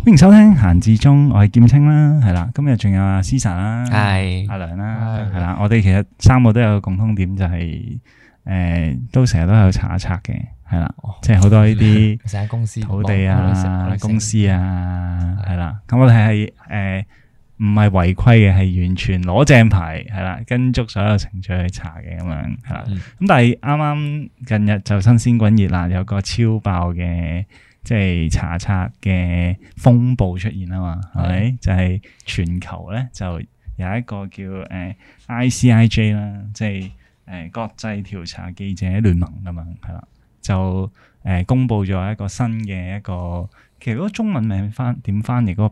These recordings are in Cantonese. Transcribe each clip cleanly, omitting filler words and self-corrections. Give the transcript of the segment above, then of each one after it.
歡迎收聽閒置中，我係劍青啦，係啦，今日仲有阿 Caesar 啦， 係阿梁啦，係啦，我哋其實三個都有個共通點，就係都成日都有查一查嘅，係啦，即係好多呢啲成間公司土地啊、公司啊，係啦，咁我哋係唔係違規嘅，係完全攞正牌，係啦，跟足所有程序去查嘅咁樣，係啦，咁但係啱啱近日就新鮮滾熱辣，有個超爆嘅。即係查冊嘅風暴出現啊嘛，係咪？就係全球咧就有一個叫ICIJ 啦，即係國際調查記者聯盟咁樣，係啦，就公佈咗一個新嘅一個，其實嗰個中文名點翻譯嗰個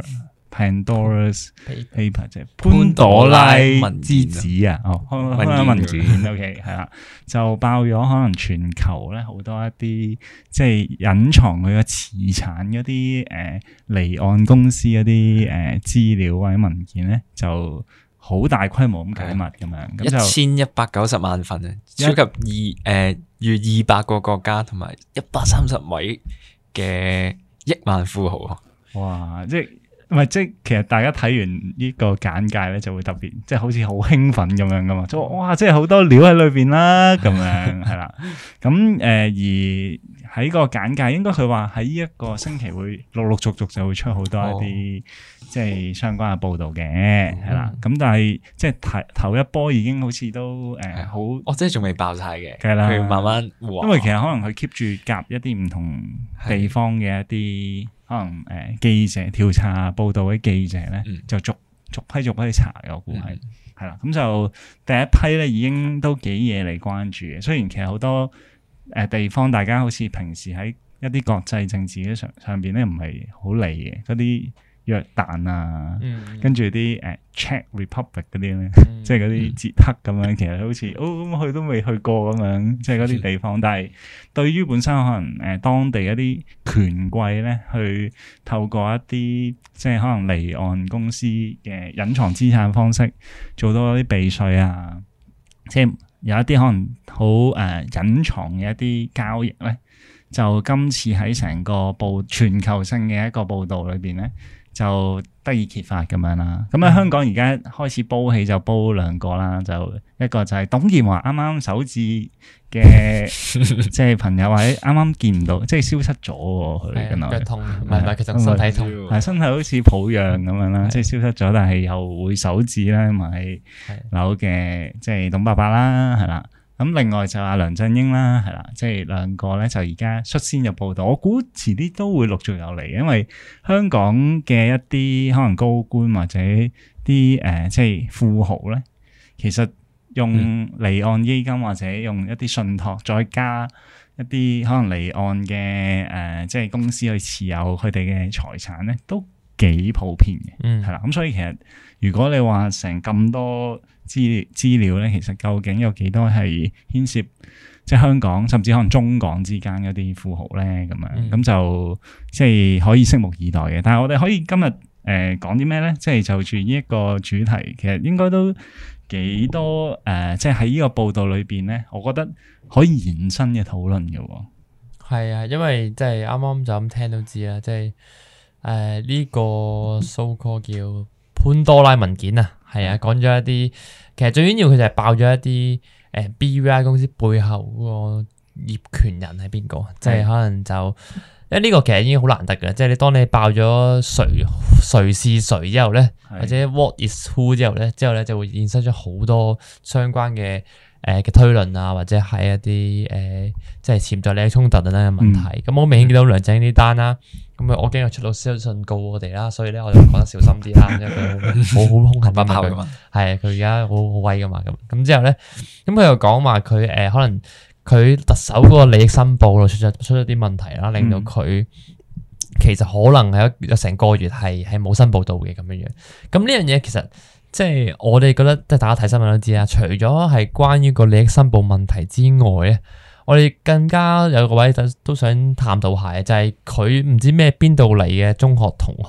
Pandora's Paper 即係潘朵拉之子啊，文件 OK 係啦，就爆咗可能全球咧好多一啲即係隱藏佢嘅磁產嗰啲離岸公司嗰啲資料或者文件咧，就好大規模咁解密咁樣，咁就 1190萬份啊，涉及逾200個國家同埋130位嘅億萬富豪。 哇！即係其實大家睇完呢個簡介咧，就會特別即係好似好興奮咁樣噶嘛，就哇！即係好多料喺裏邊啦，咁樣係啦。咁而喺個簡介，應該佢話喺呢一個星期會陸續就會出好多一啲即係相關嘅報導嘅，係啦。咁但係即係頭一波已經好似都好， 即係仲未爆晒嘅， 係啦， 佢慢慢因為其實可能佢 keep 住夾一啲唔同地方嘅一啲。可能記者調查報道嘅記者咧，就逐批查嘅，我估係啦。咁就第一批咧已經都幾嘢嚟關注嘅。雖然其實好多地方大家好似平時喺一啲國際政治嘅上邊咧唔係好理嘅嗰啲。約旦啊，跟住啲Czech Republic 嗰啲咧，即係嗰啲捷克咁樣，其實好似咁去都未去過咁樣，即係嗰啲地方。但係對於本身可能當地一啲權貴咧，去透過一啲即係可能離岸公司嘅隱藏資產方式，做到一啲避稅啊，即係有一啲可能好隱藏嘅一啲交易咧，就今次喺成個全球性嘅一個報導裏邊咧。就得以揭發咁樣啦，咁喺香港而家開始煲起就煲兩個啦，就一個就係董建華啱啱首置嘅即係朋友或者啱啱見唔到，即係消失咗佢，原來腳痛唔係其實身體痛，係身體好似抱恙咁樣啦，即係消失咗，但係又會首置啦，買樓嘅即係董伯伯啦，係啦。咁另外就阿梁振英啦，係啦，即係兩個咧就而家率先入報道，我估遲啲都會陸續有嚟，因為香港嘅一啲可能高官或者啲即係富豪咧，其實用離岸基金或者用一啲信託，再加一啲可能離岸嘅即係公司去持有佢哋嘅財產咧，都幾普遍嘅，係啦。咁所以其實如果你話成咁多資料咧，其實究竟有幾多係牽涉即係香港甚至可能中港之間嗰啲富豪咧咁樣，咁就即係可以拭目以待嘅。但係我哋可以今日講啲咩咧？即係就住呢一個主題，其實應該都幾多即係喺呢個報道裏邊咧，我覺得可以延伸嘅討論嘅。 係啊，因為即係啱啱就咁聽都知啦，即係呢個 so call 叫潘多拉文件啊。係啊，講咗一啲，其實最緊要佢就係爆咗一啲BVI 公司背後嗰個業權人係邊個，即係可能就因為呢個其實已經好難得嘅，即係你當你爆咗誰是誰之後咧，或者 what is who 之後咧就會衍生咗好多相關嘅嘅推論啊，或者係一啲即係潛在利益衝突等等嘅問題。咁我明顯見到梁振英呢單啦。咁我驚佢出到私信告我哋啦，所以咧我就講得小心啲啦，因為佢好兇狠不爆嘅嘛，係佢而家好威噶嘛，咁之後咧，咁佢又講話佢可能佢特首嗰個利益申報咯出咗啲問題啦，令到佢其實可能係有成個月係冇申報到嘅咁樣樣。咁呢樣嘢其實即係我哋覺得，即係大家睇新聞都知啦，除咗係關於個利益申報問題之外咧。我哋更加有個位都想探討下嘅，就係佢唔知咩邊度嚟嘅中學同學啊，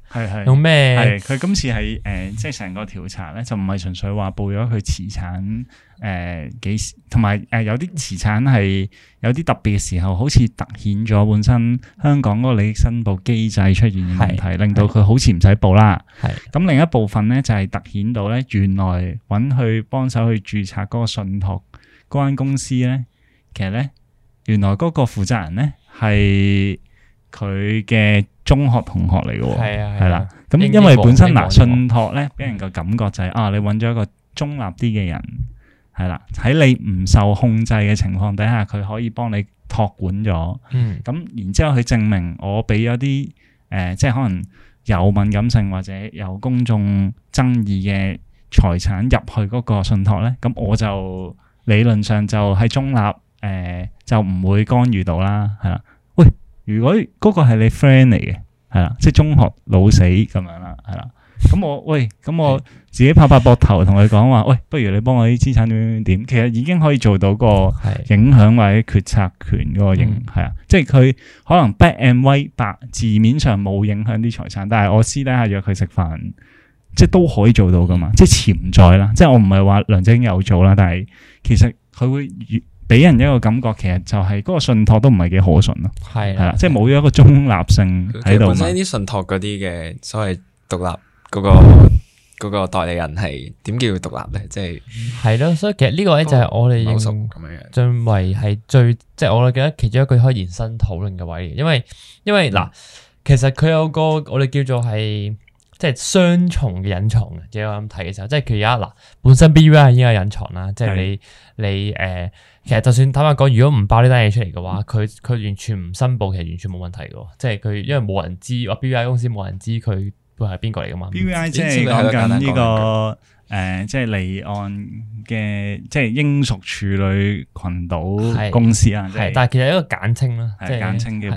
係用咩？ 係佢今次係即係成個調查咧，就唔係純粹話報咗佢持產幾時，同埋有啲持產係有啲特別嘅時候，好似突顯咗本身香港嗰個利益申報機制出現嘅問題，令到佢好似唔使報啦。係咁另一部分咧就係突顯到咧，原來揾佢幫手去註冊嗰個信託嗰間公司咧，其實咧原來嗰個負責人咧係佢嘅中學同學嚟嘅，係啦。咁因為本身信託咧俾人個感覺就係你揾咗一個中立啲嘅人，係啦，喺你唔受控制嘅情況底下，佢可以幫你託管咗。咁然之後佢證明我俾咗啲即係可能有敏感性或者有公眾爭議嘅財產入去嗰個信託咧，咁我就理論上就係中立，就唔會干預到啦，係啦。喂，如果嗰個係你 friend 嚟嘅，係啦，即係中學老死咁樣啦，係啦。咁我自己拍拍膊頭同佢講話，喂，不如你幫我啲資產點，其實已經可以做到個影響或者決策權嗰個影，係啊，即係佢可能 black and white 白字面上冇影響啲財產，但係我私底下約佢食飯，即係都可以做到噶嘛，即係潛在啦，即係我唔係話梁振英有做啦，但係其實佢會俾人一個感覺，其實就係嗰個信託都唔係幾可信咯，係啦，即係冇咗一個中立性喺度。本身啲信託嗰啲嘅所謂獨立嗰個代理人係點叫獨立咧？即係咯，所以其實呢個咧就係我哋認為係最即係我哋記得其中一個可以延伸討論嘅位，因為嗱，其實佢有個我哋叫做係即係雙重嘅隱藏嘅，即係我咁睇嘅時候，即係佢而家嗱本身 BVI 已經有隱藏啦，即係你其實就算坦白講，如果唔爆呢單嘢出嚟嘅話，佢完全唔申報，其實完全冇問題嘅，即係佢因為冇人知，話 BVI 公司冇人知佢會係邊個嚟噶嘛 ？BVI 即係講緊呢個即係離岸嘅即係英屬處女群島公司啊， 係，但係其實一個簡稱啦， 即係簡稱叫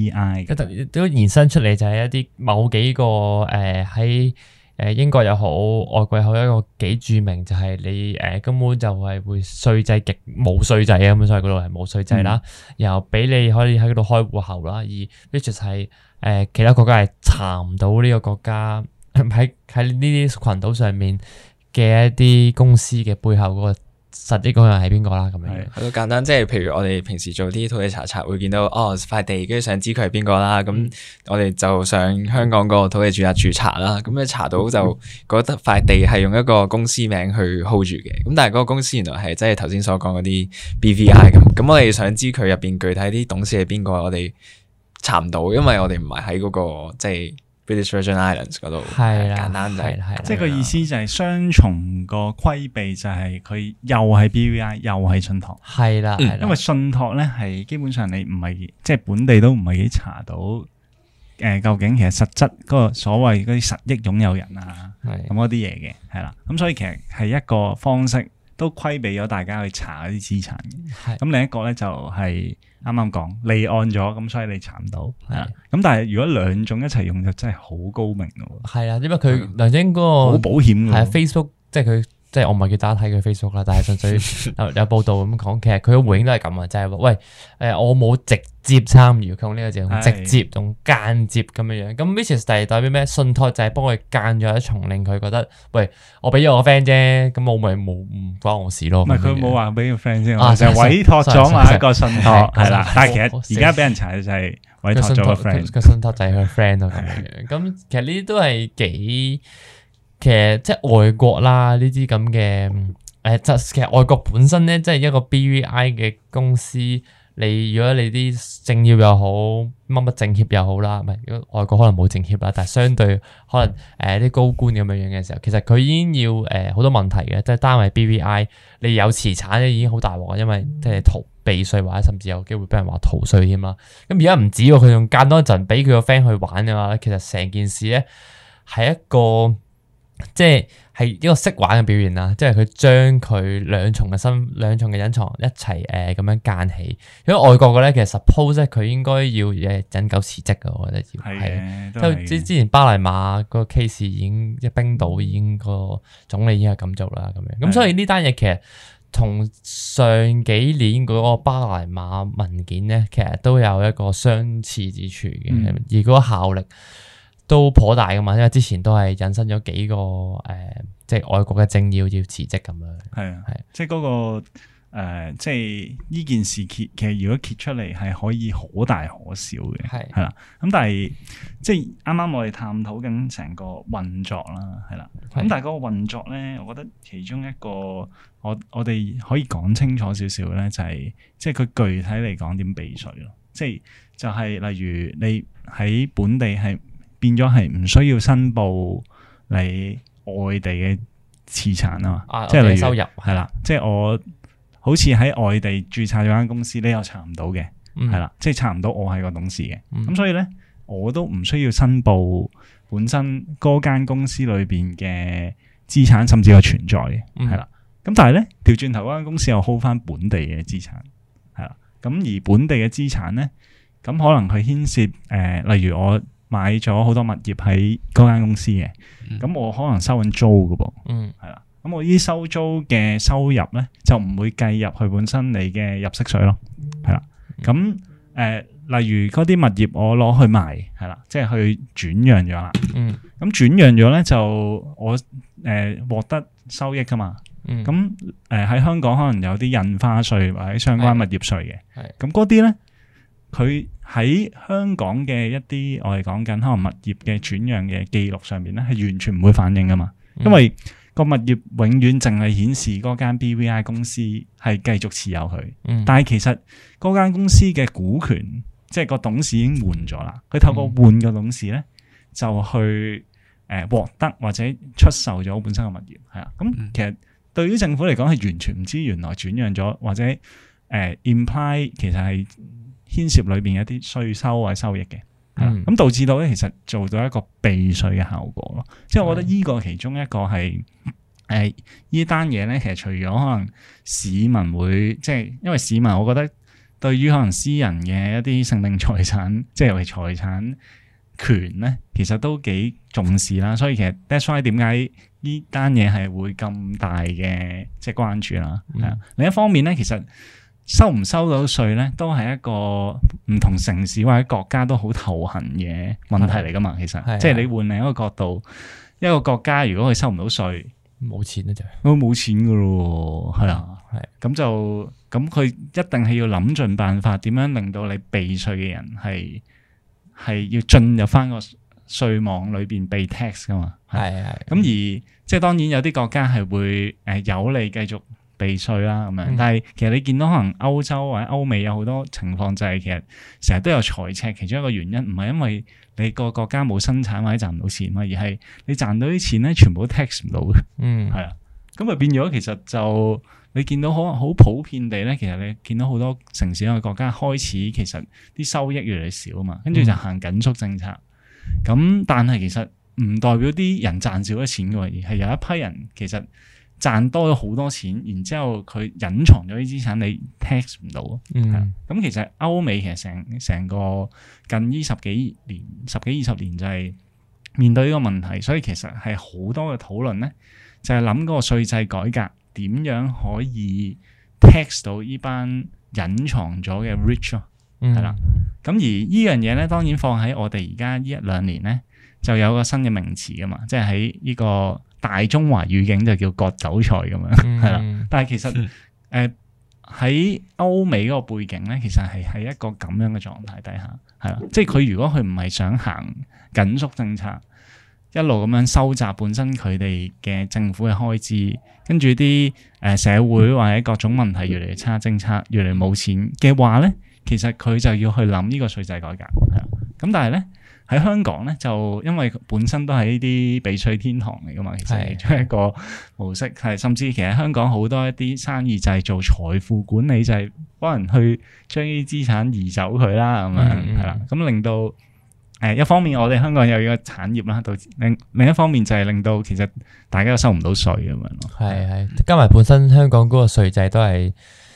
BVI。 都延伸出嚟就係一啲某幾個喺英國又好，外國又好，一個幾著名就係你根本就係會稅制極冇稅制啊，咁所以嗰度係冇稅制啦，然後俾你可以喺嗰度開戶口啦，而 which 係其他國家係查唔到呢個國家喺呢啲群島上面嘅一啲公司嘅背後嗰個實際嗰個人係邊個啦？咁樣好簡單，即係譬如我哋平時做啲土地查冊，會見到塊地，跟住想知佢係邊個啦。咁我哋就上香港個土地註冊處查啦。咁你查到就覺得塊地係用一個公司名去 hold 住嘅。咁但係嗰個公司原來係即係頭先所講嗰啲 BVI 咁。咁我哋想知佢入邊具體啲董事係邊個，我哋查唔到，因為我哋唔係喺嗰個即係British Virgin Islands 嗰度，簡單就係， 即係個意思就係雙重個規避，就係佢又係 BVI 又係信託， 係啦， 因為信託咧係基本上你唔係即係本地都唔係幾查到，究竟其實實質嗰個所謂嗰啲實益擁有人啊，咁嗰啲嘢嘅，係啦，咁所以其實係一個方式都規避咗大家去查嗰啲資產嘅，咁另一個咧就係。啱啱講離岸咗，咁所以你查唔到，係啦。咁但係如果兩種一齊用就真係好高明咯。係啊，因為佢梁振英嗰個好保險嘅。係啊 ，Facebook 即係佢即係我唔係叫大家睇佢 Facebook 啦，但係純粹有報道咁講，其實佢嘅回應都係咁啊，就係話喂我冇直接參與，佢用呢個字，用直接同間接咁樣樣。咁 which is 代表咩？信託就係幫佢間咗一重，令佢覺得喂，我俾咗我 friend 啫，咁我咪冇唔關我事咯。唔係佢冇話俾個 friend 先，就委託咗埋一個信託係啦。但係其實而家俾人查就係委託咗個 friend，個信託就係佢 friend 咯咁樣樣。咁其實呢啲都係幾。其實即係外國啦，呢啲咁嘅其實外國本身咧，即係一個 BVI 嘅公司，如果你啲政要又好，乜政協又好啦，唔係如果外國可能冇政協啦，但係相對可能啲高官咁樣樣嘅時候，其實佢已經要好多問題嘅，即係單為 BVI，你有資產咧已經好大鑊，因為即係避稅或者甚至有機會俾人話逃稅添啦。咁而家唔止喎，佢仲間多一陣俾佢個 friend 去玩嘅話，其實成件事咧係一個。即係一個識玩嘅表現啦，即係佢將佢兩重嘅隱藏一齊咁樣間起。如果外國嘅咧，其實 suppose 佢應該要引咎辭職嘅，我覺得要係。即係之前巴黎馬嗰個 case 已經冰島已經個總理已經係咁做啦，咁樣。咁所以呢單嘢其實同上幾年嗰個巴黎馬文件咧，其實都有一個相似之處嘅，而嗰個效力。 都頗大噶嘛，因為之前都係引申咗幾個即係外國嘅政要要辭職咁樣。 係啊，係，即係嗰個即係呢件事其實如果揭出嚟係可以可大可小嘅，係啦。咁但係即係啱啱我哋探討緊成個運作啦，係啦。咁但係嗰個運作咧，我覺得其中一個我哋可以講清楚少少咧，就係即係佢具體嚟講點避稅咯。即係就係例如你喺本地係變咗係唔需要申報你外地嘅資產啊嘛，即係例如收入係啦，即係我好似喺外地註冊咗間公司，你又查唔到嘅，係啦，即係查唔到我係個董事嘅，咁所以咧我都唔需要申報本身嗰間公司裏邊嘅資產，甚至係存在嘅，係啦。咁但係咧調轉頭嗰間公司又 hold 翻本地嘅資產，係啦。咁而本地嘅資產咧，咁可能佢牽涉例如我買咗好多物業喺嗰間公司嘅，咁我可能收緊租噶噃，係啦。咁我呢啲收租嘅收入咧，就唔會計入去本身你嘅入息稅咯，係啦。咁例如嗰啲物業我攞去賣，係啦，即係去轉讓咗啦。咁轉讓咗咧就我獲得收益噶嘛。咁喺香港可能有啲印花稅或者相關物業稅嘅，咁嗰啲咧佢喺香港嘅一啲我哋講緊可能物業嘅轉讓嘅記錄上面咧係完全唔會反映噶嘛，因為個物業永遠淨係顯示嗰間 BVI 公司係繼續持有佢，但係其實嗰間公司嘅股權即係個董事已經換咗啦，佢透過換個董事咧就去獲得或者出售咗本身嘅物業，係啊，咁其實對於政府嚟講係完全唔知原來轉讓咗或者imply 其實係牽涉裏邊一啲稅收或者收益嘅，咁導致到咧其實做到一個避稅嘅效果咯。即係我覺得呢個其中一個係呢單嘢咧，其實除咗可能市民會即係因為市民，我覺得對於可能私人嘅一啲性命財產，即係尤其財產權咧，其實都幾重視啦。所以其實 that's why 點解呢單嘢係會咁大嘅即係關注啦。係啊，另一方面咧，其實收唔收到稅咧，都係一個唔同城市或者國家都好頭痕嘅問題嚟噶嘛。其實即係你換另一個角度，一個國家如果佢收唔到稅， 冇錢咧就冇錢噶咯，係啊，咁就咁佢一定係要諗盡辦法，點樣令到你避稅嘅人係要進入翻個稅網裏邊被 tax 噶嘛。係咁而即係當然有啲國家係會有利繼續避稅啦咁樣，但係其實你見到可能歐洲或者歐美有好多情況就係其實成日都有財赤，其中一個原因唔係因為你個國家冇生產或者賺唔到錢嘛，而係你賺到啲錢咧全部都 tax 唔到嘅，係啊，咁咪變咗其實就你見到好普遍地咧，其實你見到好多城市嘅國家開始其實啲收益越嚟越少啊嘛，跟住就行緊縮政策，咁但係其實唔代表啲人賺少咗錢嘅，而係有一批人其實賺多咗好多錢，然之後佢隱藏咗啲資產，你 tax 唔到。咁其實歐美其實成個近呢十幾二十年就係面對呢個問題，所以其實係好多嘅討論咧，就係諗嗰個稅制改革點樣可以 tax 到呢班隱藏咗嘅 rich 咯，係啦。咁而呢樣嘢咧，當然放喺我哋而家呢一兩年咧，就有個新嘅名詞噶嘛，即係喺呢個大中華語境就叫割韭菜咁樣，係啦。但係其實喺歐美嗰個背景咧，其實係喺一個咁樣嘅狀態底下，係啦。即係佢如果佢唔係想行緊縮政策，一路咁樣收窄本身佢哋嘅政府嘅開支，跟住啲社會或者各種問題越嚟越差，政策越嚟越冇錢嘅話咧，其實佢就要去諗呢個稅制改革，係啦。咁但係咧，喺香港咧，就因為本身都係呢啲避稅天堂嚟噶嘛，其實其中一個模式係，甚至其實香港好多一啲生意就係做財富管理，就係幫人去將呢啲資產移走佢啦，咁樣係啦，咁令到一方面我哋香港有呢個產業啦，到另一方面就係令到其實大家都收唔到稅咁樣咯。係加埋本身香港嗰個稅制都係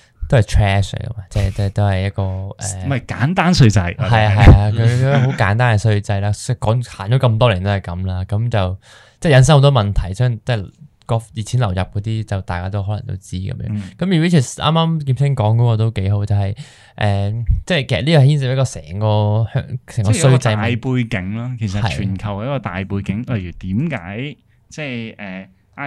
trash 嚟噶嘛，即係都係一個唔係簡單稅制，係佢好簡單嘅稅制啦，講行咗咁多年都係咁啦，咁就即係引申好多問題，即係個熱錢流入嗰啲，就大家都可能都知咁樣。咁而 which 啱啱劍青講嗰個都幾好，就係即係其實呢個牽涉一個成個稅制大背景啦。其實全球嘅一個大背景，例如點解即係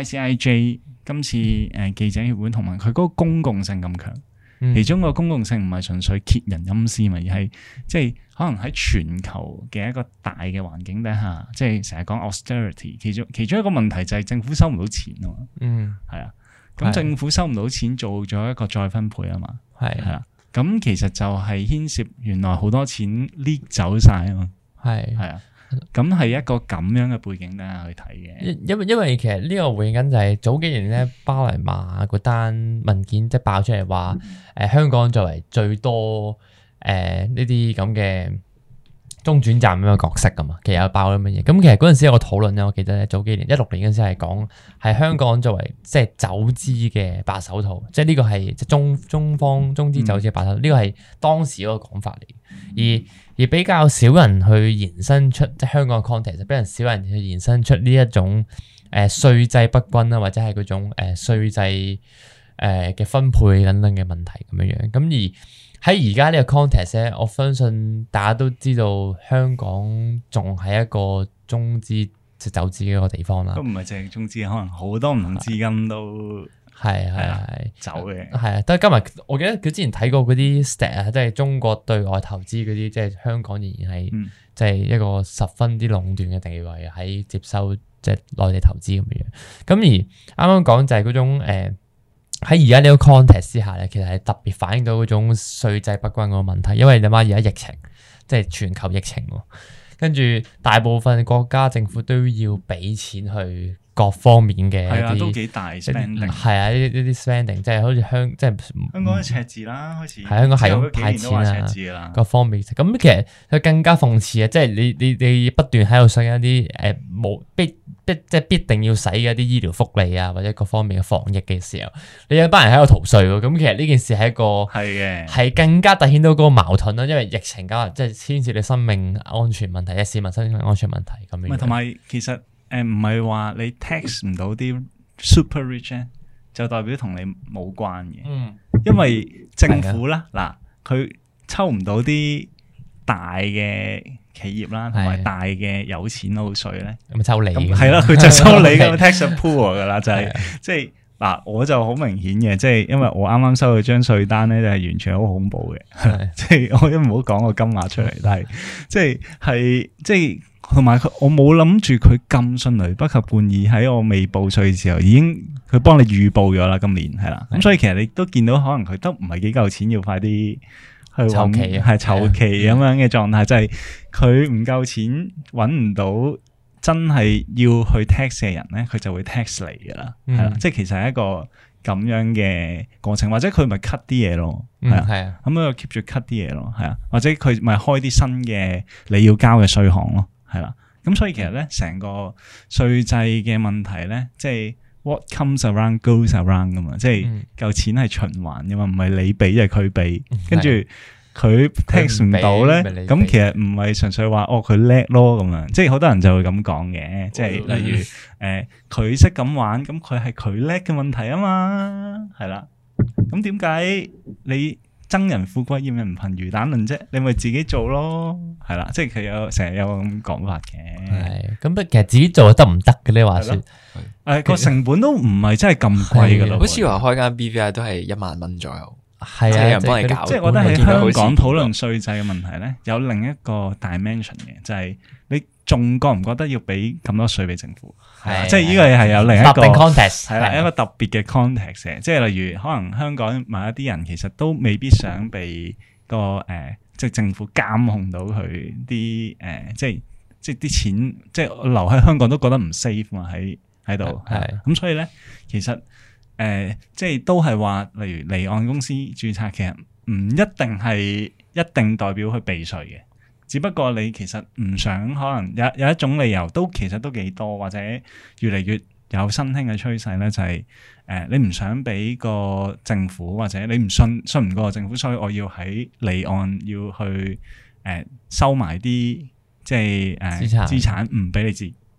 ICIJ 今次記者協會同埋佢嗰個公共性咁強。其中個公共性唔係純粹揭人陰私嘛，而係即係可能喺全球嘅一個大嘅環境底下，即係成日講 austerity， 其中一個問題就係政府收唔到錢啊嘛，係啊，咁政府收唔到錢，做咗一個再分配啊嘛，係啊，咁其實就係牽涉原來好多錢 leak 走晒啊嘛，係啊。咁係一個咁樣嘅背景底下去睇嘅， 因為其實呢個背景就係早幾年咧巴黎馬嗰單文件即係爆出嚟話，香港作為最多呢啲咁嘅中轉站咁嘅角色噶嘛，其實有爆咗乜嘢？咁其實嗰陣時有個討論咧，我記得早幾年16年嗰陣時係講係香港作為即係走資嘅白手套，即係呢個係即係中方中資走資嘅白手套，呢個係當時嗰個講法嚟，而比較少人去延伸出即係香港嘅 context，比較少人去延伸出呢一種稅制不均啦，或者係嗰種稅制嘅分配等等嘅問題咁樣樣。咁而喺而家呢個 context 咧，我相信大家都知道香港仲係一個中資即走資嘅一個地方啦。 都唔係淨係中資，可能好多唔同資金都係走嘅。係啊， 但係今日我記得佢之前睇過嗰啲 stat 啊，即係中國對外投資嗰啲，即係香港仍然係即係一個十分之壟斷嘅地位喺接收即係內地投資咁樣。咁而啱啱講就係嗰種喺而家呢個 context 之下咧，其實係特別反映到嗰種稅制不均嗰個問題，因為你諗下而家疫情，即係全球疫情，跟住大部分國家政府都要俾錢去各方面嘅一啲， 都幾大 spending， 係啊，呢啲 spending 即係好似香港嘅赤字啦，開始係香港係咁派錢啊，各方面咁其實佢更加諷刺啊，即係你不斷喺度使一啲冇即係必定要使嘅一啲醫療福利啊，或者各方面嘅防疫嘅時候，你有班人喺度逃稅喎，咁其實呢件事係一個係更加凸顯到嗰個矛盾啦，因為疫情加即係牽涉你生命安全問題，市民生命安全問題咁樣。 同埋其實唔係話你 tax 唔到啲 super rich 咧，就代表同你冇關嘅，因為政府啦嗱，佢抽唔到啲大嘅企業啦，同埋大嘅有錢佬稅咧， 咁抽你係啦，佢就收你咁 tax pool 噶啦，就係即係嗱，我就好明顯嘅，即係因為我啱啱收到張稅單咧，就係完全好恐怖嘅，即係我都唔好講個金額出嚟，但係即係同埋我冇諗住佢咁迅雷不及半意喺我未報稅嘅時候，已經佢幫你預報咗啦，今年係啦，咁所以其實你都見到可能佢都唔係幾夠錢，要快啲。 籌期係籌期咁樣嘅狀態，就係佢唔夠錢揾唔到真係要去 tax 嘅人咧，佢就會 tax 你噶啦，係啦，即係其實係一個咁樣嘅過程，或者佢咪 cut 啲嘢咯，係啊，咁佢 keep 住 cut 啲嘢咯，係啊，或者佢咪開啲新嘅你要交嘅稅項咯，係啦，咁所以其實咧成個稅制嘅問題咧，即係。What comes around goes around 噶嘛，即係嚿錢係循環噶嘛，唔係你俾就係佢俾，跟住佢 tax 唔到咧，咁其實唔係純粹話佢叻咯咁樣，即係好多人就會咁講嘅，即係例如佢識咁玩，咁佢係佢叻嘅問題啊嘛，係啦，咁點解你憎人富貴厭人貧魚蛋論啫？你咪自己做咯，係啦，即係佢成日有咁講法嘅。係， 咁其實自己做得唔得嘅呢？話說， 個成本都唔係真係咁貴噶咯。 好似話開間 BVI 都係1萬蚊左右， 係啊， 有人幫你搞。 即係我覺得喺香港討論稅制嘅問題咧，有另一個 dimension 嘅，就係你仲覺唔覺得要俾咁多稅俾政府？係，即係呢個係有另一個 context， 係啦，一個特別嘅 context 嘅，即係例如可能香港某一啲人其實都未必想被個即係政府監控到佢啲即係啲錢，即係留喺香港都覺得唔 safe 嘛，喺度，係咁所以咧，其實即係都係話，例如離岸公司註冊，其實唔一定係一定代表去避稅嘅。只不過你其實唔想，可能有一種理由都其實都幾多，或者越嚟越有新興嘅趨勢咧，就係你唔想俾個政府，或者你唔信唔過個政府，所以我要喺離岸要去收埋啲即係資產唔俾你知，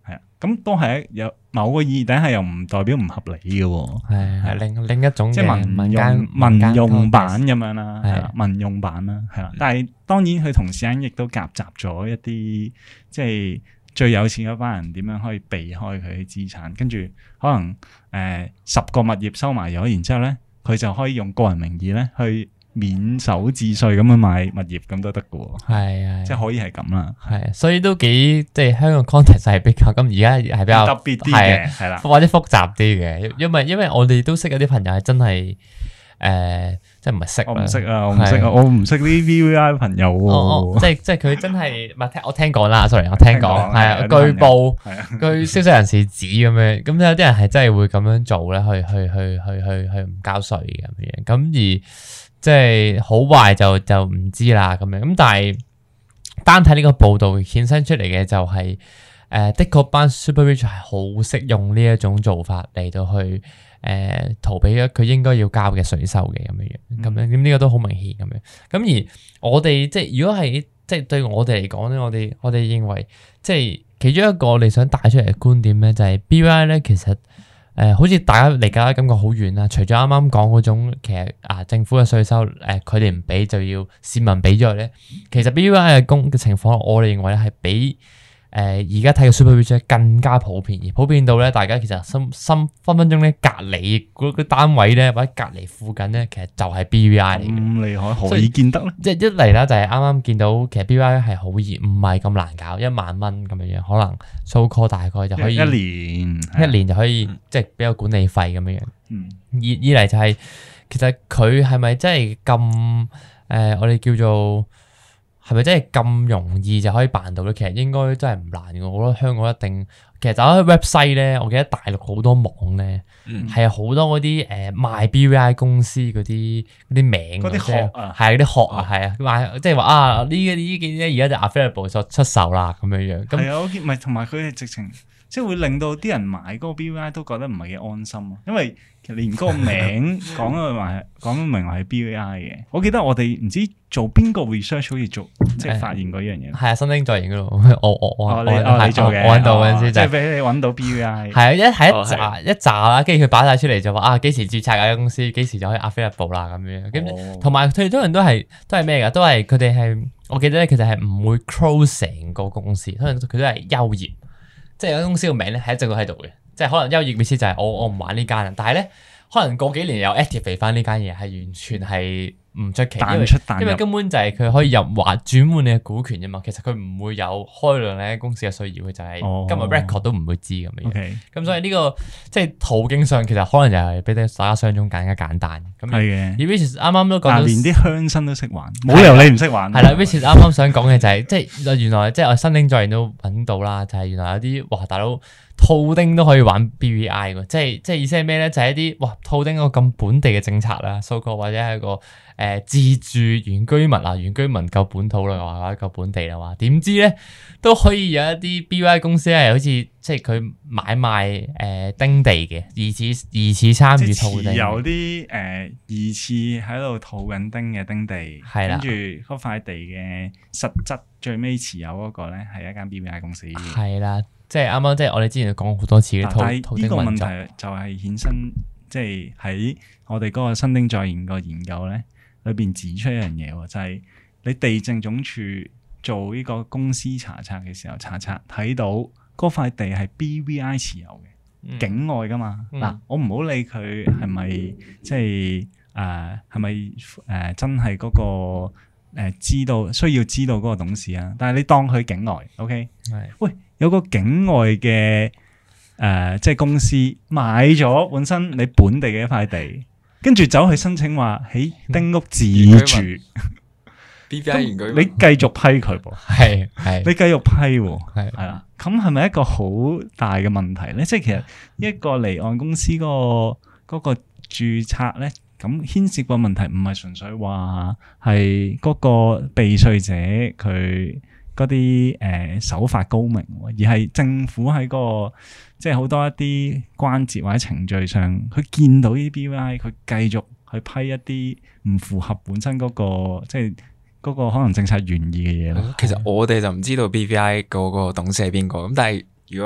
係啊，咁都係有某個意義底下又唔代表唔合理嘅喎。 係另一種即係民用版咁樣啦，係啦，民用版啦，係啦。但係當然佢同時間亦都夾雜咗一啲即係最有錢嗰班人點樣可以避開佢嘅資產，跟住可能10個物業收埋咗，然之後咧佢就可以用個人名義咧去免手置稅咁樣買物業咁都得嘅喎。係即係可以係咁啦。 係，所以都幾即係香港 context 係比較咁，而家係比較特別啲嘅，係啦， 或者複雜啲嘅，因為我哋都識有啲朋友係真係即係唔係識，我唔識啊， 我唔識啲 VVI 朋友喎。 即係佢真係唔係我聽講啦，sorry，我聽講係啊，據報據消息人士指咁樣，咁有啲人係真係會咁樣做咧，去唔交稅嘅咁樣，咁而即係好壞就唔知啦咁樣，咁但係單睇呢個報道衍生出嚟嘅就係的確班 super rich 係好識用呢一種做法嚟到去逃避咗佢應該要交嘅稅收嘅咁樣，咁呢個都好明顯咁樣。咁而我哋即係如果係即係對我哋嚟講咧，我哋認為即係其中一個我哋想帶出嚟嘅觀點咧，就係 BVI 咧其實好似大家理解感覺好遠啦。除咗啱啱講嗰種其實政府嘅稅收佢哋唔俾就要市民俾咗咧，其實 BVI 嘅情況，我哋認為咧係比而家睇嘅 super rich 更加普遍，而普遍到咧，大家其實分分鐘咧隔離嗰個單位咧，或者隔離附近咧，其實就係 BVI 嚟嘅。咁厲害，何以見得咧？即係一嚟啦，就係啱啱見到其實 BVI 係好易，唔係咁難搞，1萬蚊咁樣樣，可能 so call 大概就可以一年就可以即係俾個管理費咁樣樣。二嚟就係其實佢係咪真係咁我哋叫做？係咪真係咁容易就可以辦到咧？其實應該真係唔難嘅。我覺得香港一定，其實打開 website 咧，我記得大陸好多網咧，係好多嗰啲賣 BVI 公司嗰啲名，嗰啲殼啊，係嗰啲殼啊，係啊，賣即係話呢幾啲而家就 available 就出售啦咁樣樣。 係啊，我見唔係同埋佢係直情。即係會令到啲人買嗰個 BVI 都覺得唔係幾安心，因為其實連嗰個名講明話係 BVI 嘅。我記得我哋唔知做邊個 research 好似做即係發現過一樣嘢。係啊，新丁在研嗰度，你做嘅，我揾到嗰陣時就係俾你揾到 BVI。係啊，一紮啦，跟住佢擺晒出嚟就話幾時註冊間公司，幾時就可以 available 啦咁樣。咁同埋佢哋多人都係咩㗎？都係佢哋係我記得咧，其實係唔會 close 成個公司，可能佢都係休業。即係有間公司個名咧係一直都喺度嘅，即係可能休業意思就係我唔玩呢間啦，但係咧可能過幾年又 activate 翻呢間嘢，係完全係唔出奇，因為根本就係佢可以轉換你嘅股權啫嘛。其實佢唔會有開量呢間公司嘅需要，佢就係今日 record 都唔會知咁樣。咁所以呢個即係途徑上其實可能又係比大家想象中更加簡單。係嘅。而 Which 啱啱都講到，連啲鄉紳都識玩，冇理由你唔識玩。係啦 Which 啱啱想講嘅就係即係原來即係我新丁在研都揾到啦，就係原來有啲哇大佬套丁都可以玩 BVI 喎，即係意思係咩咧？就係一啲套丁一個咁本地嘅政策啦，so called或者係一個自住原居民啊，原居民夠本土啦，或者夠本地啦，話點知咧都可以有一啲 BVI 公司係好似即係佢買賣丁地嘅，疑似參與套丁，有啲疑似喺度套緊丁嘅丁地，係啦，跟住嗰塊地嘅實質最尾持有嗰個咧係一間 BVI 公司，係啦。即係啱啱，即係我哋之前講過好多次嘅套丁運作。呢個問題就係衍生，即係喺我哋嗰個新丁在研個研究咧，裏邊指出一樣嘢喎，就係你地政總署做呢個公司查冊嘅時候，查冊睇到嗰塊地係 BVI 持有嘅，境外噶嘛。嗱，我唔好理佢係咪即係係咪真係嗰個需要知道嗰個董事啊？但係你當佢境外 ，OK？ 係，喂。有個境外嘅即係公司買咗本身你本地嘅一塊地，跟住走去申請話喺丁屋自住 ，BVI 原居民，你繼續批佢噃，係你繼續批喎，係啦，咁係咪一個好大嘅問題咧？即係其實一個離岸公司嗰個註冊咧，咁牽涉個問題唔係純粹話係嗰個避稅者佢嗰啲手法高明，而係政府喺個即係好多一啲關節或者程序上，佢見到呢啲 BVI，佢繼續去批一啲唔符合本身嗰個即係嗰個可能政策原意嘅嘢咯。其實我哋就唔知道 BVI 嗰個董事係邊個，咁但係如果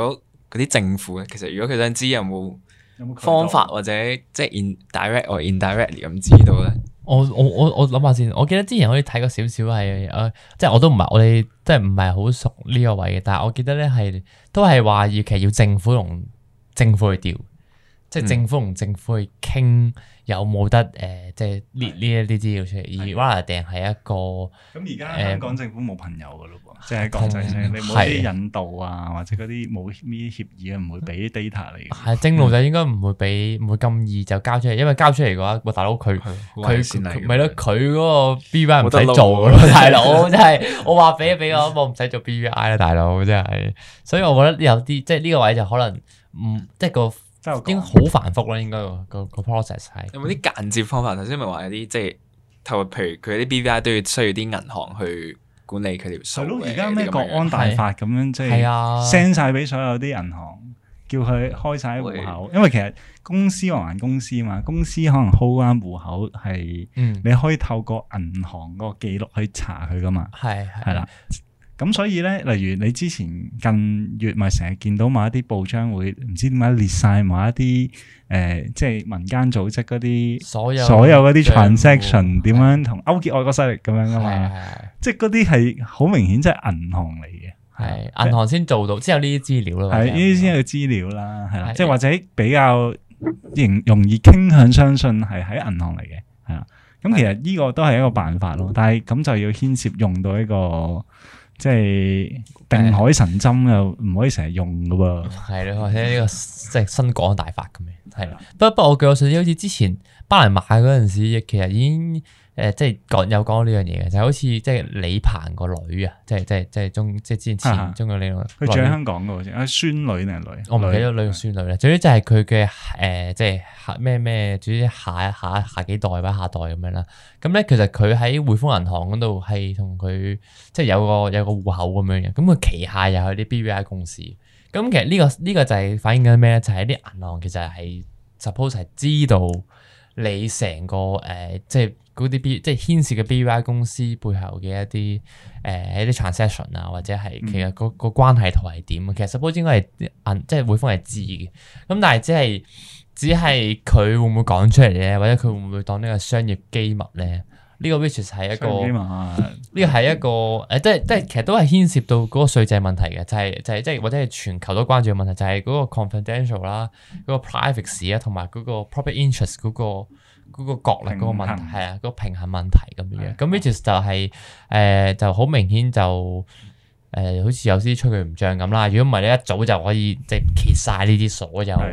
啲政府咧，其實如果佢想知有冇方法或者即係 direct or indirectly 咁知道咧？ 我諗下先，我記得之前好似睇過少少係即係我都唔係我哋即係唔係好熟呢個位嘅，但係我記得咧係都係話其實要政府同政府去調，即係政府同政府去傾有冇得即係列呢一啲資料出嚟，而 rather 定係一個咁而家香港政府冇朋友噶咯喎，即係國際上你冇啲引導啊，或者嗰啲冇呢啲協議唔會俾 data 你。係正路就應該唔會咁易就交出嚟，因為交出嚟嘅話，大佬佢咪咯，佢嗰個 BVI 唔使做噶咯，大佬真係我話俾我唔使做 BVI 啦，大佬真係。所以我覺得有啲即係呢個位就可能即係個。應該好繁複啦，應該個 process 係。有冇啲間接方法？頭先咪話有啲即係透過，譬如佢啲 BVI 都要需要啲銀行去管理佢條數。係咯， 而家咩國安大法咁樣，即係 send 晒俾所有啲銀行，叫佢開晒戶口。因為其實公司還公司嘛，公司可能 hold 翻戶口係，你可以透過銀行個記錄去查佢噶嘛。係啦。咁所以咧，例如你之前近月咪成日見到某一啲報章會唔知點解列晒某一啲即係民間組織嗰啲所有嗰啲 transaction 點樣同勾結外國勢力咁樣噶嘛？即係嗰啲係好明顯，即係銀行嚟嘅。 係銀行先做到，先有呢啲資料啦。係呢啲先有資料啦，係啦。即係或者比較容易傾向相信係喺銀行嚟嘅，係啦。咁其實呢個都係一個辦法咯，但係咁就要牽涉用到一個。即係定海神針又唔可以成日用噶喎， 係咯，或者呢個即係新國安大法咁樣，係啦。不過我據我所知，好似之前巴拿馬嗰陣時，其實已經即係有講呢樣嘢嘅，就好似即係李鵬個女啊，即係之前中國呢個， 佢住喺香港噶好似，孫女定係女？ 我唔記得女定孫女啦。總之就係佢嘅即係咩，總之下幾代或者下代咁樣啦。咁咧其實佢喺匯豐銀行嗰度係同佢即係有個戶口咁樣嘅。咁佢旗下又有啲 BVI 公司。咁其實呢個就係反映緊咩咧？就係啲銀行其實係 suppose 係知道你成個即係嗰啲即係牽涉嘅 BVI 公司背後嘅一啲 transaction 啊，或者係其實個關係圖係點？其實 suppose 應該係即係匯豐係知嘅。咁但係只係佢會唔會講出嚟咧？或者佢會唔會當呢個商業機密咧？呢個 which 係一個呢個係一個即係其實都係牽涉到嗰個稅制問題嘅，就係即係或者係全球都關注嘅問題，就係嗰個 confidential 啦，嗰個 privacy 啊，同埋嗰個 public interest 嗰個角力嗰個問題係啊，嗰個平衡問題咁樣。咁 which 就係就好明顯就好似有啲吹佢唔脹咁啦。如果唔係你一早就可以即係揭晒呢啲所有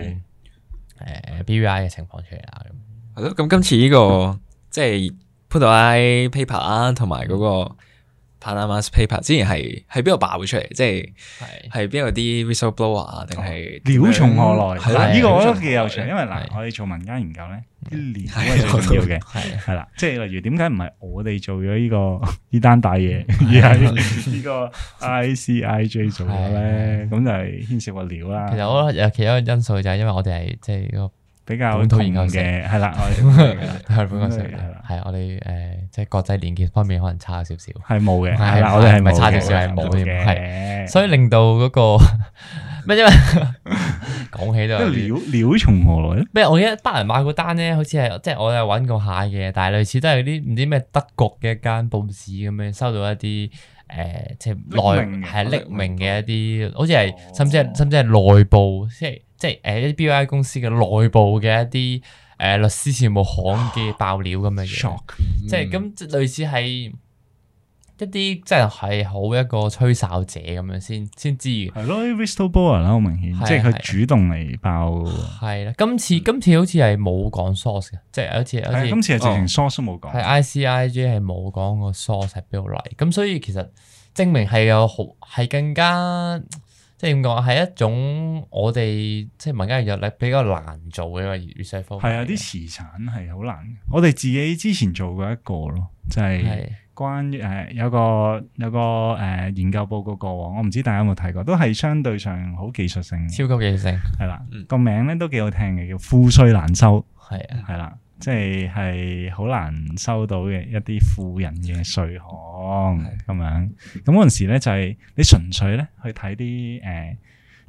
BVI 嘅情況出嚟啦。 係咯，咁今次呢個即係。潘多拉 paper 啊，同埋嗰個 Panama paper 之前係邊度爆出嚟？即係邊度啲 whistleblower 啊，定係料從何來？係啦，呢個我覺得幾有趣，因為嗱，我哋做民間研究咧，啲料係最重要嘅，係啦，即係例如點解唔係我哋做咗呢單大嘢，而係呢個 ICIJ 做咗咧？咁就係牽涉個料啦。 其實我覺得其中一個因素就係因為我哋係即係個。 比較本土研究嘅係啦，我哋本土研究係我哋即係國際連結方面可能差少少， 係冇嘅，係啦，我哋係咪差少少係冇嘅， 係，所以令到嗰個咩因為講起都料從何來咧？ 咩？我記得巴拿馬嗰單咧，好似係即係我有揾過下嘅，但係類似都係啲唔知咩德國嘅一間報紙咁樣收到一啲即係匿名嘅一啲，好似係甚至係內部即係一啲 BVI 公司嘅內部嘅一啲律師事務行嘅爆料咁樣嘢，即係咁類似係一啲即係好一個吹哨者咁樣先知嘅。 係咯，whistleblower 啦，好明顯，即係佢主動嚟爆。係啦，今次好似係冇講 source 嘅，即係好似今次係直情 source 都冇講。 係 ICIJ 係冇講個 source 係邊度嚟，咁所以其實證明係更加。即係點講係一種我哋即係民間藥力比較難做嘅一個research方法。係啊，啲磁產係好難。我哋自己之前做過一個咯，就係關於有個研究報告過往，我唔知大家有冇睇過，都係相對上好技術性， 超級技術性係啦。個名咧都幾好聽嘅，叫賦稅難收。 係啊， 係啦。即係好難收到嘅一啲富人嘅稅項咁樣，咁嗰陣時咧就係你純粹咧去睇啲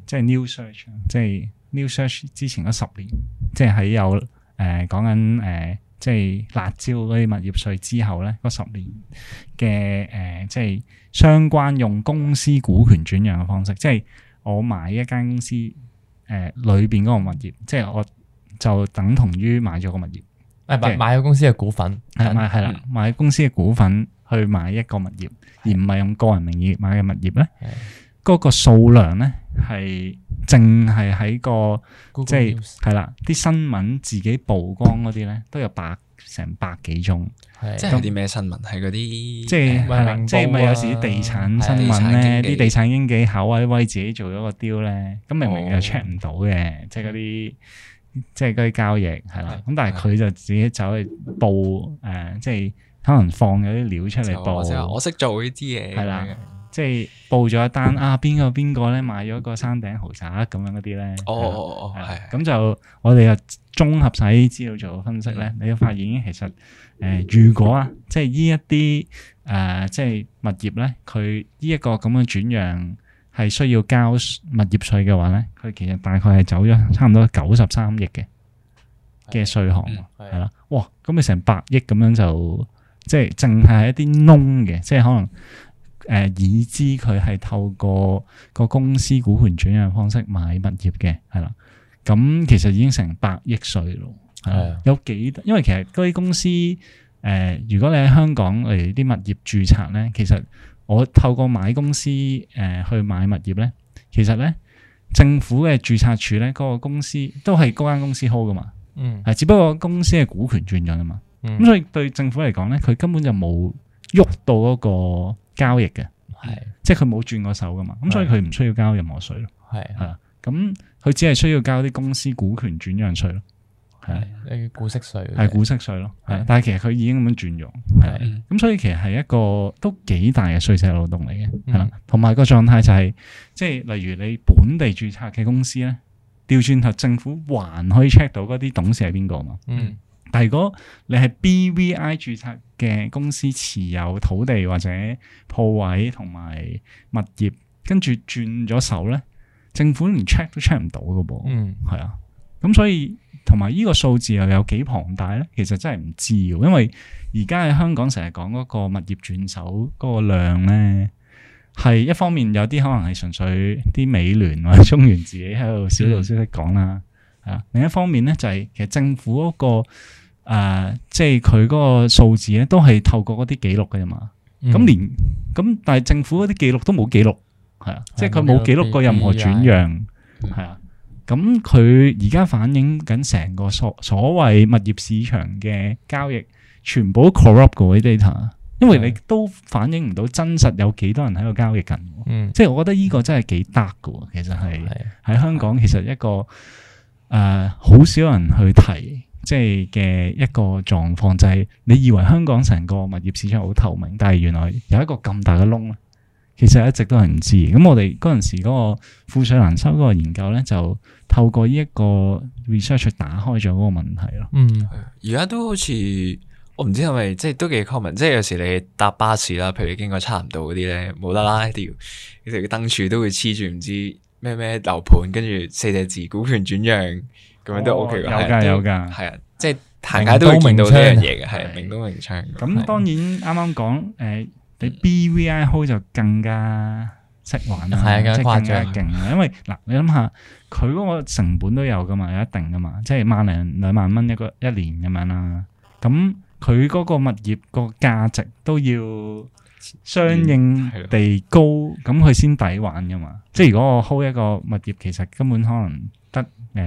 即係 New Search， 即係 New Search 之前嗰10年，即係喺有講緊即係辣椒嗰啲物業稅之後咧，嗰10年嘅即係相關用公司股權轉讓嘅方式，即係我買一間公司裏邊嗰個物業，即係我就等同於買咗個物業。 買咗公司嘅股份， 係啦，買公司嘅股份去買一個物業，而唔係用個人名義買嘅物業咧。嗰個數量咧係淨係喺個即係啦，啲新聞自己曝光嗰啲咧都有成百幾宗。 即係啲咩新聞？係嗰啲即係係啦，即係咪有時啲地產新聞咧？啲地產經紀口威威自己做咗個 deal 咧，咁明明又 check 唔到嘅，即係嗰啲。即係嗰啲交易係啦，咁但係佢就自己走去報即係可能放咗啲料出嚟報。 我識做呢啲嘢。係啦， 即係報咗一單邊個咧買咗個山頂豪宅咁樣嗰啲咧。係。咁就我哋又綜合晒啲資料做分析咧，你就發現其實如果即係呢一啲即係物業咧，佢呢一個咁嘅轉讓係需要交物業稅嘅話咧，佢其實大概係走咗差唔多93億嘅稅項，係啦。哇！咁你成100億咁樣就即係淨係一啲窿嘅，即係可能已知佢係透過個公司股權轉讓方式買物業嘅，係啦。咁其實已經成100億稅咯。係有幾？因為其實嗰啲公司如果你喺香港嚟啲物業註冊咧，其實我透過買公司去買物業咧，其實咧政府嘅註冊處咧嗰個公司都係嗰間公司 hold 噶嘛，只不過公司嘅股權轉讓啊嘛，咁所以對政府嚟講咧，佢根本就冇喐到嗰個交易嘅，即係佢冇轉過手噶嘛，咁所以佢唔需要交任何稅咯，係啊，咁佢只係需要交啲公司股權轉讓稅咯。 係股息稅， 係股息稅咯，係，但係其實佢已經咁樣轉用，係，咁所以其實係一個都幾大嘅稅制漏洞嚟嘅，係啦，同埋個狀態就係，即係例如你本地註冊嘅公司咧，調轉頭政府還可以 check 到嗰啲董事係邊個嘛，但係如果你係 BVI 註冊嘅公司持有土地或者鋪位同埋物業，跟住轉咗手咧，政府連 check 都 check 唔到噶噃，係啊，咁所以。同埋呢個數字又有幾龐大咧？其實真係唔知嘅，因為而家喺香港成日講嗰個物業轉手嗰個量咧，係一方面有啲可能係純粹啲美聯或者中原自己喺度小道消息講啦，係啊。另一方面咧就係其實政府嗰個即係佢嗰個數字咧都係透過嗰啲記錄嘅啫嘛。咁但係政府嗰啲記錄都冇記錄，係啊，即係佢冇記錄過任何轉讓，係啊。咁佢而家反映緊成個所謂物業市場嘅交易，全部都 corrupt 嘅啲 data， 因為你都反映唔到真實有幾多人喺度交易緊。即係我覺得呢個真係幾得嘅，其實係喺香港其實一個好少人去提，即係嘅一個狀況，就係你以為香港成個物業市場好透明，但係原來有一個咁大嘅窿。其實一直都係唔知，咁我哋嗰陣時嗰個富稅難收嗰個研究咧，就透過呢一個 research 去打開咗嗰個問題咯。 而家都好似我唔知係咪即係都幾 common，即係有時你搭巴士啦，譬如你經過差唔多嗰啲咧，冇得啦，條燈柱都會黐住唔知咩樓盤，跟住4隻字股權轉讓咁樣都 OK 㗎， 有㗎， 係啊，即係行街都會見到呢樣嘢嘅，係明刀明槍。 咁當然啱啱講你 BVI hold 就更加識玩啦，即係更加勁啦。因為嗱，你諗下，佢嗰個成本都有噶嘛，有一定噶嘛，即係1零2萬蚊一年咁樣啦。咁佢嗰個物業個價值都要相應地高，咁佢先抵玩噶嘛。即係如果我 hold 一個物業，其實根本可能得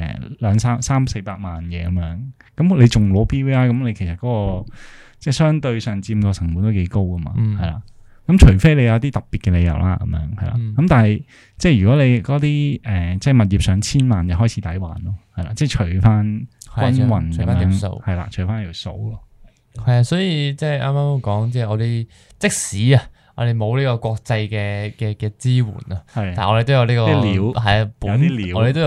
300-400萬嘢咁樣，咁你仲攞 BVI， 咁你其實嗰個即係相對上佔個成本都幾高噶嘛，係啦。咁除非你有啲特別嘅理由啦，咁樣係啦。咁但係即係如果你嗰啲即係物業上千萬就開始抵還咯，係啦。即係除翻均勻咁樣，係啦，除翻條數咯。 係啊，所以即係啱啱講，即係我哋即使我哋冇呢個國際嘅支援啊，但係我哋都有呢個料， 係啊，我哋都有啲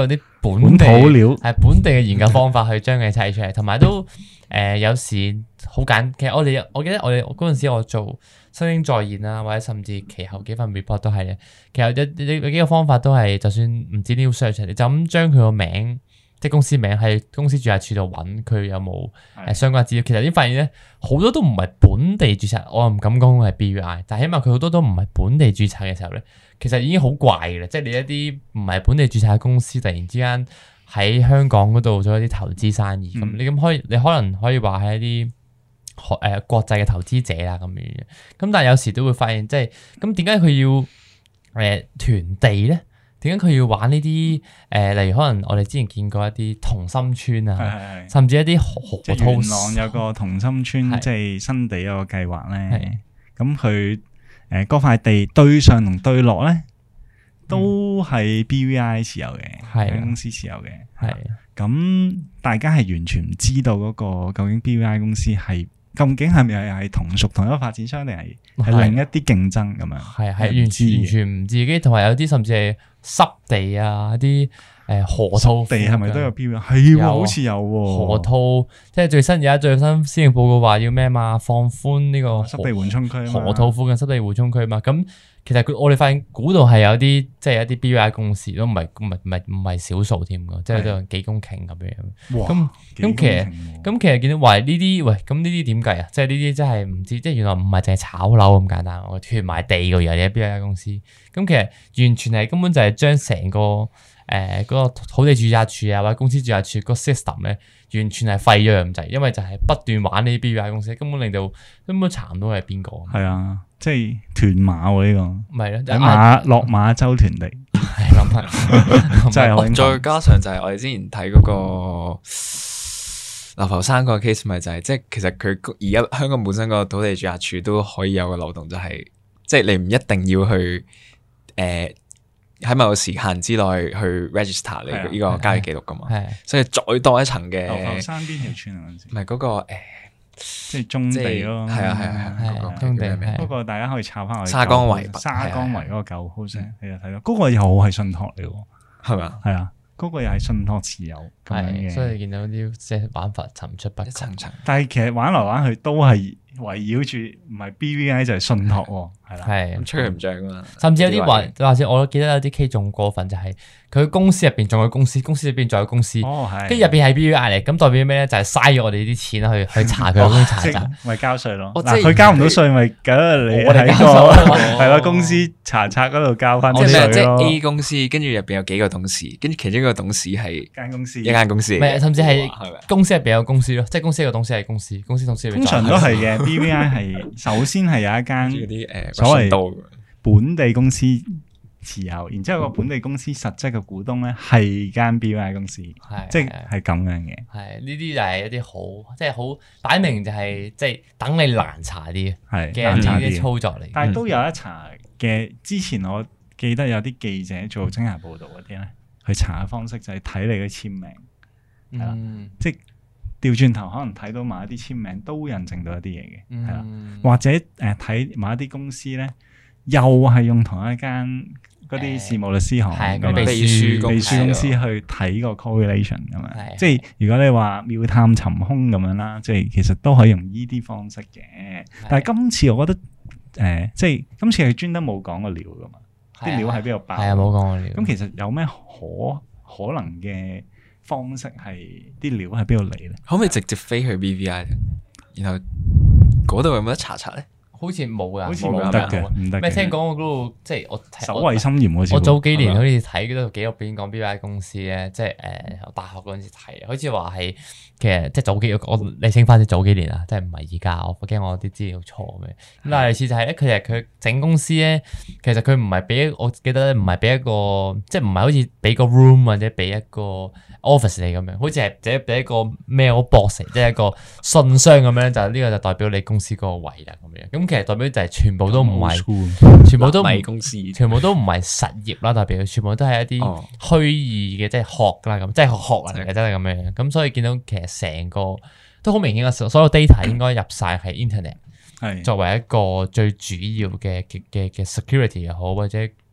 本地土料， 係本地嘅研究方法去將佢砌出嚟，同埋都有時好簡。其實我記得我嗰陣時我做新英再現啦，或者甚至其後幾份 report 都係嘅。其實有幾個方法都係，就算唔知 new search 你就咁將佢個名。即係公司名喺公司註冊處度揾佢有冇相關資料，其實已經發現咧好多都唔係本地註冊，我唔敢講係 BVI，但係起碼佢好多都唔係本地註冊嘅時候咧，其實已經好怪嘅啦。即係你一啲唔係本地註冊嘅公司，突然之間喺香港嗰度做一啲投資生意，咁你可能可以話係一啲國際嘅投資者啦咁樣。咁但係有時都會發現，即係咁點解佢要囤地咧？點解佢要玩呢啲例如可能我哋之前見過一啲同心村啊，甚至一啲河套元朗有個同心村，即係新地有個計劃咧。咁佢嗰塊地對上同對落咧，都係 BVI 持有嘅，公司持有嘅。係咁，大家係完全唔知道嗰個究竟 BVI 公司係究竟係咪係同屬同一個發展商，定係另一啲競爭咁樣？係完全唔自己，同埋有啲甚至係濕地啊，啲河套地係咪都有 BVI？係，好似有河套，即係最新施政報告話要咩嘛？放寬呢個濕地緩衝區， 河套附近濕地緩衝區嘛？咁其實我哋發現估到係有啲即係一啲 BVI 公司都唔係少數添㗎，即係都有幾公頃咁樣。咁其實見到話呢啲咁呢啲點計啊？即係呢啲真係唔知，即係原來唔係淨係炒樓咁簡單，我囤埋地嘅嘢 BVI 公司。咁其實完全係根本就係將成個嗰個土地註冊處啊或者公司註冊處個 system 咧，完全係廢咗咁滯，因為就係不斷玩呢啲 BVI 公司，根本令到根本查唔到係邊個。 係啊，即係屯馬喎呢個。 係咯， 落馬洲屯地。 係諗下， 真係再加上就係我哋之前睇嗰個流浮山個 case，咪就係即係其實佢而家香港本身個土地註冊處都可以有個漏洞，就係即係你唔一定要去喺某個時限之內去 register 你呢個交易記錄噶嘛，所以再多一層嘅。 流浮山邊條村啊？嗰陣時唔係嗰個即係棕地咯。 係啊，嗰個棕地。 不過大家可以抄翻我沙江圍嗰個舊 house，你就睇到嗰個又係信託嚟喎， 係咪啊？ 係啊，嗰個又係信託持有咁樣嘅。 所以見到啲即係玩法層出不窮。 但係其實玩來玩去都係圍繞住唔係 BVI 就係信託喎，係啦， 係吹佢唔漲啊嘛。 甚至有啲或者我都記得有啲 case 仲過分，就係佢公司入邊仲有公司，公司入邊仲有公司，跟住入邊係 BVI 嚟，咁代表咩咧？就係嘥咗我哋啲錢去查佢公司查冊， 咪交稅咯。嗱，佢交唔到稅，咪咁你喺個係咯公司查冊嗰度交翻啲稅咯。 即係 A 公司，跟住入邊有幾個董事，跟住其中一個董事係一間公司， 甚至係公司入邊有公司咯，即係公司個董事係公司董事入邊。 通常都係嘅。BVI 係首先係有一間啲所謂本地公司持有，然之後個本地公司實質嘅股東咧係間 BVI 公司，即係咁樣嘅。 係呢啲就係一啲好，即係好擺明就係即係等你難查啲嘅啲操作嚟。 但係都有一查嘅。之前我記得有啲記者做偵查報導嗰啲咧，去查嘅方式就係睇你嘅簽名，係啦，即係。調轉頭可能睇到某一啲簽名都印證到一啲嘢嘅，係啦，或者睇某一啲公司咧，又係用同一間嗰啲事務律師行咁秘書公司去睇個 correlation 咁樣，即係如果你話妙探尋兇咁樣啦，即係其實都可以用依啲方式嘅。但係今次我覺得即係今次係專登冇講個料噶嘛，啲料喺邊度爆？ 係啊，冇講個料。 咁其實有咩可能嘅方式係啲料喺邊度嚟咧？ 可唔可以直接飛去 BVI， 然後嗰度有冇得查冊咧？ 好似冇啊， 好似唔得嘅，唔得。 咩聽講我嗰度即係我守衞森嚴好似。 我早幾年好似睇嗰度紀錄片講 BVI 公司咧，即係我大學嗰陣時睇，好似話係其實即係早幾我理清翻啲早幾年啊，即係唔係而家，我驚我啲資料錯嘅。咁但係類似就係咧，佢整公司咧，其實佢唔係俾我記得咧，唔係俾一個即係唔係好似俾個 room 或者俾一個 office 嚟咁樣，好似係即係俾一個 mailbox 即係一個信箱咁樣，就呢個就代表你公司嗰個位啦咁樣。咁其實代表就係全部都唔係，全部都唔係公司，全部都唔係實業啦，代表全部都係一啲虛擬嘅，即係學啦咁，即係學人嚟嘅，真係咁樣。咁所以見到其實成個都好明顯嘅，所有 data 應該入晒係 internet，作為一個最主要嘅 security 又好，或者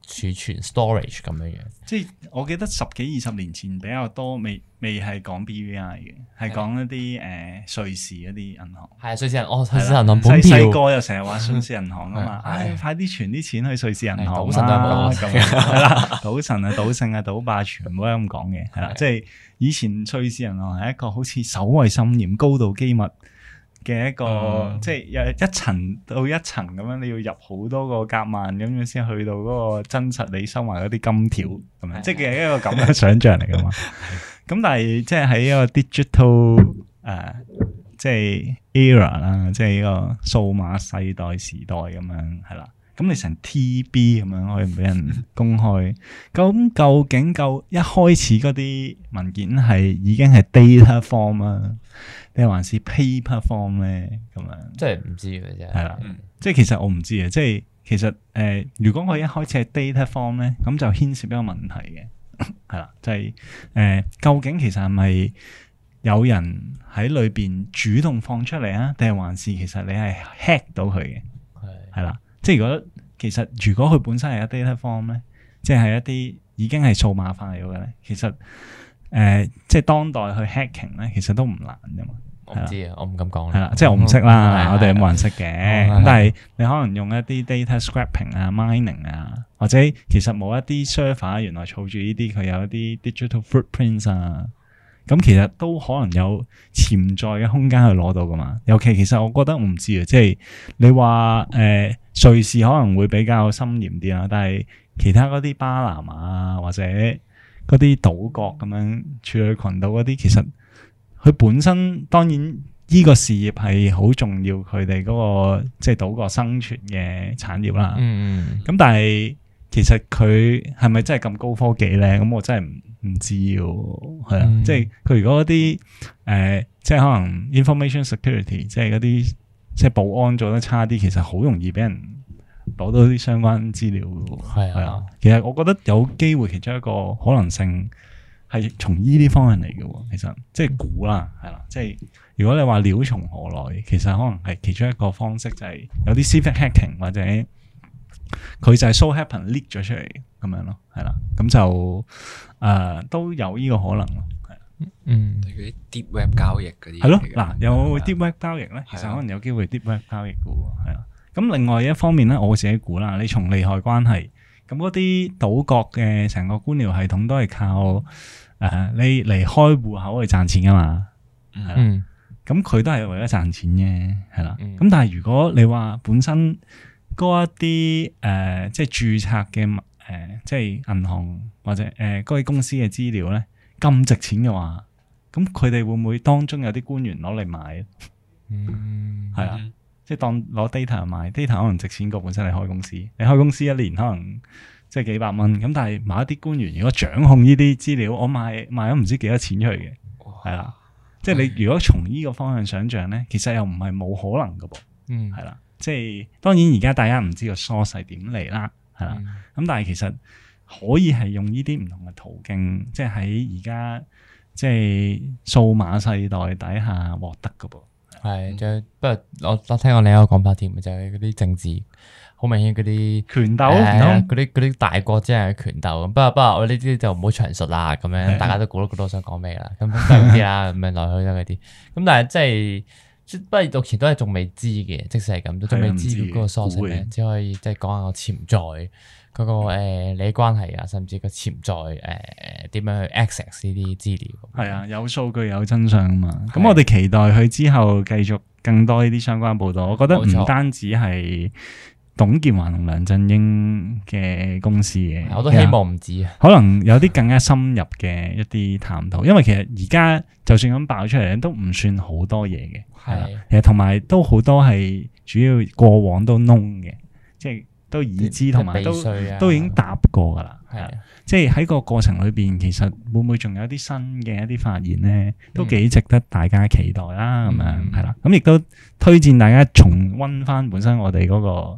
儲存 storage 咁樣樣。即係我記得10幾20年前比較多，未係講 BVI 嘅，係講一啲瑞士一啲銀行。係瑞士銀行，瑞士銀行本票。細個又成日話瑞士銀行啊嘛，快啲存啲錢去瑞士銀行啦，咁係啦，賭神啊、賭聖啊、賭霸全部都咁講嘅，係啦，即係以前瑞士銀行係一個好似守衛森嚴、高度機密嘅一個，即係有一層到一層咁樣，你要入好多個夾萬咁樣先去到嗰個真實你收埋嗰啲金條咁樣，即係一個咁嘅想像嚟噶嘛。咁但係即係喺一個 digital 即係 era 啦，即係呢個數碼世代時代咁樣係啦。咁你成 TB 咁樣可以俾人公開，咁究竟一開始嗰啲文件係已經係 data form 啊，定還是 paper form 咧？咁樣即係唔知嘅啫。係啦， 即係其實我唔知啊。即係其實如果我一開始係 data form 咧，咁就牽涉一個問題嘅，係啦，就係究竟其實係咪有人喺裏邊主動放出嚟啊？定係還是其實你係 hack 到佢嘅？係啦。即係如果佢本身係一 data form 咧，即係一啲已經係數碼化咗嘅咧，其實即係當代去 hacking 咧，其實都唔難噶嘛。 我唔知啊，我唔敢講。 係啦，即係我唔識啦，我哋冇人識嘅。咁但係你可能用一啲 data scraping 啊、mining 啊，或者其實冇一啲 server 原來儲住呢啲，佢有一啲 digital footprints 啊。咁其實都可能有潛在嘅空間去攞到噶嘛，尤其其實我覺得我唔知啊，即係你話瑞士可能會比較森嚴啲啦，但係其他嗰啲巴拿馬或者嗰啲島國咁樣處女群島嗰啲，其實佢本身當然呢個事業係好重要，佢哋嗰個即係島國生存嘅產業啦。咁但係其實佢係咪真係咁高科技咧？咁我真係唔知喎，係啊，即係佢如果嗰啲即係可能 information security，即係嗰啲即係保安做得差啲，其實好容易俾人攞到啲相關資料嘅。係啊，其實我覺得有機會其中一個可能性係從呢啲方向嚟嘅。其實即係估啦，係啦，即係如果你話料從何來，其實可能係其中一個方式就係有啲 civic hacking 或者佢就係 so happen leak 咗出嚟咁樣咯，係啦，咁就都有呢個可能咯，係嗰啲 deep web 交易嗰啲係咯，嗱有 deep web 交易咧，其實可能有機會 deep web 交易嘅喎，係啦。咁另外一方面咧，我自己估啦，你從利害關係，咁嗰啲島國嘅成個官僚系統都係靠你嚟開戶口去賺錢噶嘛，係啦，咁佢都係為咗賺錢嘅，係啦。咁但係如果你話本身嗰一啲即係註冊嘅即係銀行或者嗰啲公司嘅資料咧咁值錢嘅話，咁佢哋會唔會當中有啲官員攞嚟買？係啊，即係當攞 data 買 data 可能值錢過本身你開公司，你開公司一年可能即係幾百蚊，咁但係某一啲官員如果掌控呢啲資料，我賣咗唔知幾多錢出去嘅，係啦，即係你如果從呢個方向想象咧，其實又唔係冇可能噶噃，係啦。即係當然而家大家唔知個 source 係點嚟啦，係啦，咁但係其實可以係用呢啲唔同嘅途徑，即係喺而家即係數碼世代底下獲得㗎噃。係，不過我聽過另一個講法添，就係嗰啲政治好明顯嗰啲權鬥，嗰啲大國之間嘅權鬥。不過我呢啲就唔好詳述啦，咁樣大家都估到我想講咩啦，咁都係嗰啲啦，咁樣來去都係嗰啲。咁但係即係。不過目前都係仲未知嘅，即使係咁都仲未知嗰個 source 咧，只可以即係講下個潛在嗰個利益關係啊，甚至個潛在點樣去 access 呢啲資料。係啊，有數據有真相啊嘛。咁我哋期待佢之後繼續更多呢啲相關報道。我覺得唔單止係董建華同梁振英嘅公司嘅，我都希望唔止啊。可能有啲更加深入嘅一啲探討，因為其實而家就算咁爆出嚟都唔算好多嘢嘅。係啦，其實同埋都好多係主要過往都㶶嘅，即係都已知同埋都已經答過噶啦。係啊，即係喺個過程裏邊，其實會唔會仲有啲新嘅一啲發現咧？都幾值得大家期待啦。咁樣係啦，咁亦都推薦大家重溫翻本身我哋嗰個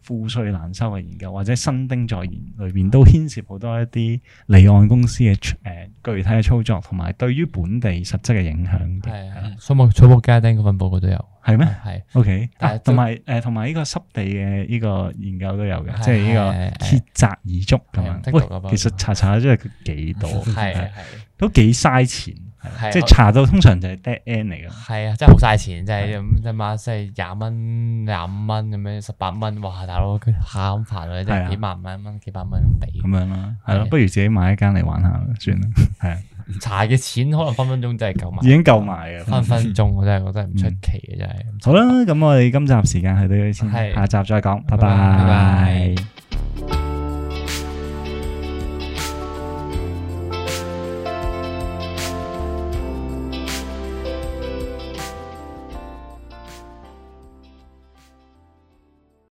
賦稅難收嘅研究，或者新丁在研裏邊都牽涉好多一啲離岸公司嘅具體嘅操作，同埋對於本地實質嘅影響。 係草木家丁嗰份報告都有， 係咩？ 係 OK， 但係同埋呢個濕地嘅呢個研究都有嘅，即係呢個竭澤而足咁樣。喂，其實查真係幾多， 係都幾嘥錢。 係即係查到通常就係 dead end 嚟㗎。係啊，真係好嘥錢，真係咁一晚即係20蚊、25蚊咁樣18蚊，哇！大佬佢下咁煩啊，即係幾萬蚊、幾百蚊咁俾。咁樣咯，係咯，不如自己買一間嚟玩下算啦。係啊，查嘅錢可能分分鐘真係夠埋，已經夠埋嘅，分分鐘我真係覺得唔出奇嘅真係。好啦，咁我哋今集時間去到呢度先，下集再講，拜拜。